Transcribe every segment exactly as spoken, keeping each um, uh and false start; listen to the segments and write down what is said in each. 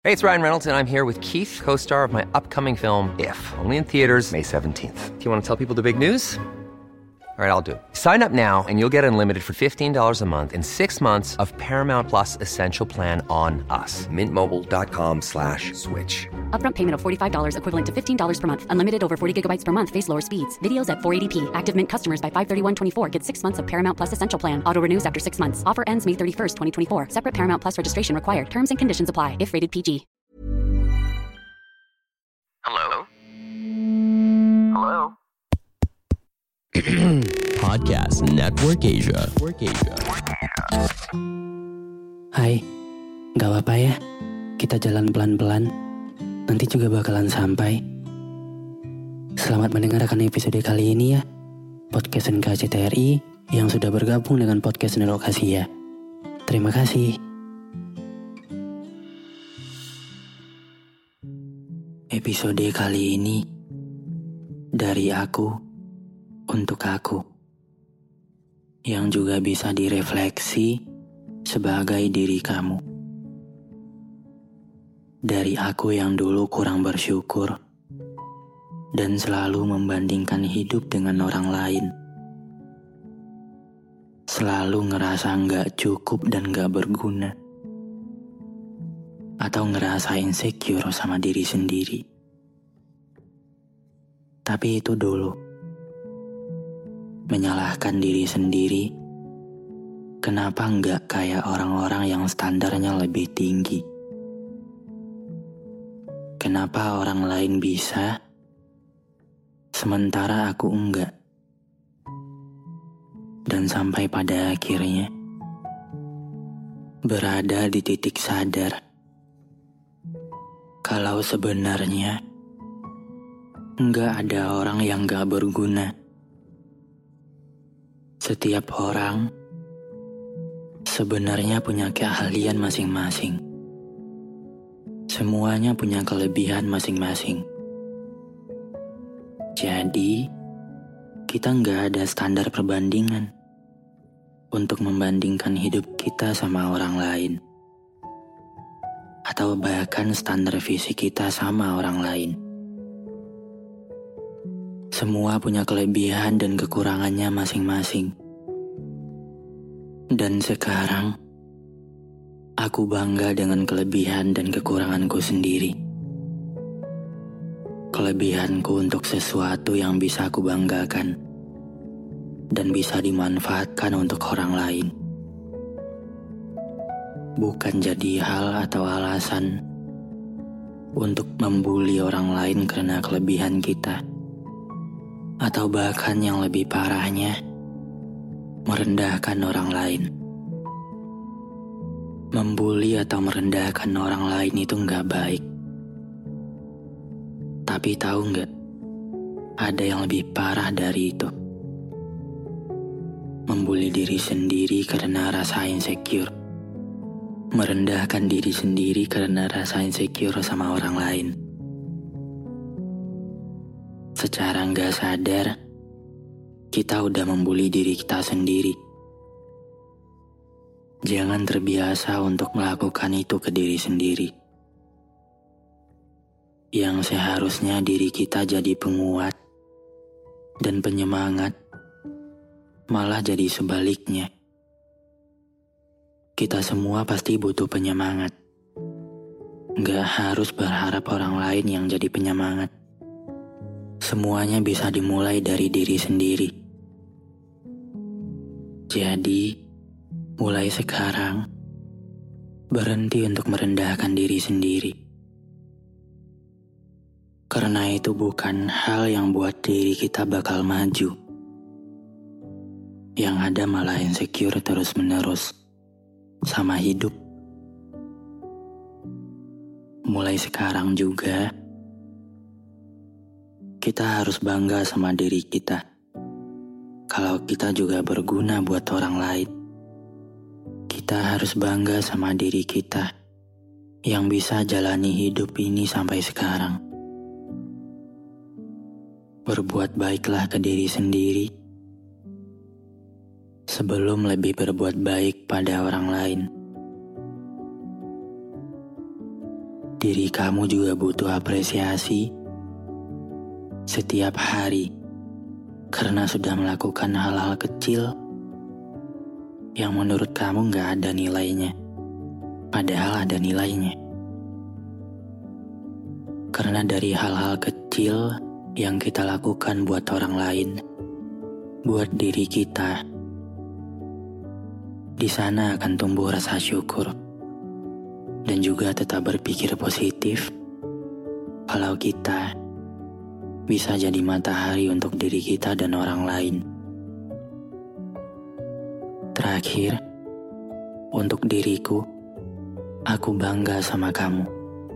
Hey, it's Ryan Reynolds, and I'm here with Keith, co-star of my upcoming film, If, only in theaters May seventeenth. Do you want to tell people the big news? All right, I'll do it. Sign up now and you'll get unlimited for fifteen dollars a month and six months of Paramount Plus Essential Plan on us. Mint Mobile dot com slash switch. Upfront payment of forty-five dollars equivalent to fifteen dollars per month. Unlimited over forty gigabytes per month. Face lower speeds. Videos at four eighty p. Active Mint customers by five thirty-one twenty-four get six months of Paramount Plus Essential Plan. Auto renews after six months. Offer ends May thirty-first, twenty twenty-four. Separate Paramount Plus registration required. Terms and conditions apply if rated P G. Hello? Hello? Podcast Network Asia. Network Asia. Hai, gak apa-apa ya, kita jalan pelan-pelan, nanti juga bakalan sampai. Selamat mendengarkan episode kali ini ya, Podcast N K C T R I yang sudah bergabung dengan Podcast Network Asia. Terima kasih. Episode kali ini dari aku untuk aku, yang juga bisa direfleksi sebagai diri kamu. Dari aku yang dulu kurang bersyukur dan selalu membandingkan hidup dengan orang lain. Selalu ngerasa gak cukup dan gak berguna. Atau ngerasa insecure sama diri sendiri. Tapi itu dulu. Menyalahkan diri sendiri, kenapa nggak kayak orang-orang yang standarnya lebih tinggi? Kenapa orang lain bisa, sementara aku enggak? Dan sampai pada akhirnya, berada di titik sadar, kalau sebenarnya nggak ada orang yang nggak berguna. Setiap orang sebenarnya punya keahlian masing-masing. Semuanya punya kelebihan masing-masing. Jadi, kita nggak ada standar perbandingan untuk membandingkan hidup kita sama orang lain. Atau bahkan standar fisik kita sama orang lain. Semua punya kelebihan dan kekurangannya masing-masing. Dan sekarang, aku bangga dengan kelebihan dan kekuranganku sendiri. Kelebihanku untuk sesuatu yang bisa aku banggakan dan bisa dimanfaatkan untuk orang lain. Bukan jadi hal atau alasan untuk membuli orang lain karena kelebihan kita. Atau bahkan yang lebih parahnya, merendahkan orang lain. Membuli atau merendahkan orang lain itu gak baik. Tapi tahu gak, ada yang lebih parah dari itu. Membuli diri sendiri karena rasa insecure. Merendahkan diri sendiri karena rasa insecure sama orang lain. Secara gak sadar, kita udah membuli diri kita sendiri. Jangan terbiasa untuk melakukan itu ke diri sendiri. Yang seharusnya diri kita jadi penguat dan penyemangat, malah jadi sebaliknya. Kita semua pasti butuh penyemangat. Gak harus berharap orang lain yang jadi penyemangat. Semuanya bisa dimulai dari diri sendiri. Jadi, mulai sekarang, berhenti untuk merendahkan diri sendiri. Karena itu bukan hal yang buat diri kita bakal maju. Yang ada malah insecure terus-menerus sama hidup. Mulai sekarang juga, kita harus bangga sama diri kita. Kalau kita juga berguna buat orang lain. Kita harus bangga sama diri kita yang bisa jalani hidup ini sampai sekarang. Berbuat baiklah ke diri sendiri sebelum lebih berbuat baik pada orang lain. diri kamu juga butuh apresiasi setiap hari karena sudah melakukan hal-hal kecil yang menurut kamu gak ada nilainya, padahal ada nilainya. Karena dari hal-hal kecil yang kita lakukan buat orang lain, buat diri kita, di sana akan tumbuh rasa syukur dan juga tetap berpikir positif kalau kita bisa jadi matahari untuk diri kita dan orang lain. Terakhir, untuk diriku, aku bangga sama kamu.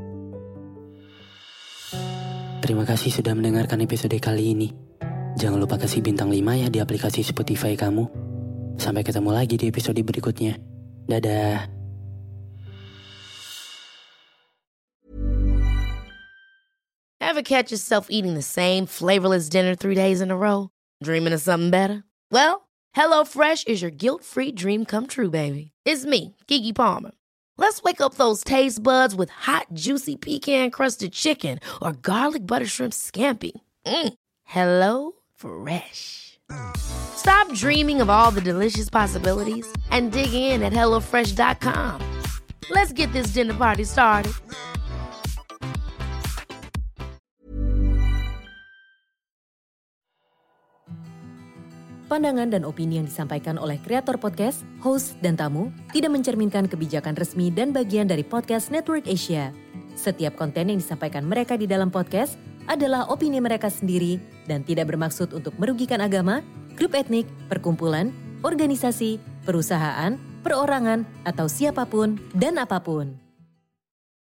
Terima kasih sudah mendengarkan episode kali ini. Jangan lupa kasih bintang lima ya di aplikasi Spotify kamu. Sampai ketemu lagi di episode berikutnya. Dadah. Ever catch yourself eating the same flavorless dinner three days in a row? Dreaming of something better? Well, HelloFresh is your guilt-free dream come true, baby. It's me, Keke Palmer. Let's wake up those taste buds with hot, juicy pecan-crusted chicken or garlic butter shrimp scampi. Mm. Hello Fresh. Stop dreaming of all the delicious possibilities and dig in at hello fresh dot com. Let's get this dinner party started. Pandangan dan opini yang disampaikan oleh kreator podcast, host, dan tamu tidak mencerminkan kebijakan resmi dan bagian dari Podcast Network Asia. Setiap konten yang disampaikan mereka di dalam podcast adalah opini mereka sendiri dan tidak bermaksud untuk merugikan agama, grup etnik, perkumpulan, organisasi, perusahaan, perorangan, atau siapapun dan apapun.